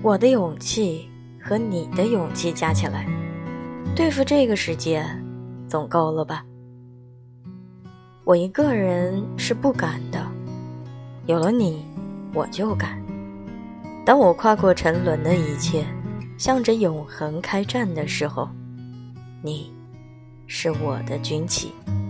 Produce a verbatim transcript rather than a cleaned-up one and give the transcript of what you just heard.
我的勇气和你的勇气加起来，对付这个世界总够了吧？我一个人是不敢的，有了你，我就敢。当我跨过沉沦的一切，向着永恒开战的时候，你是我的军旗。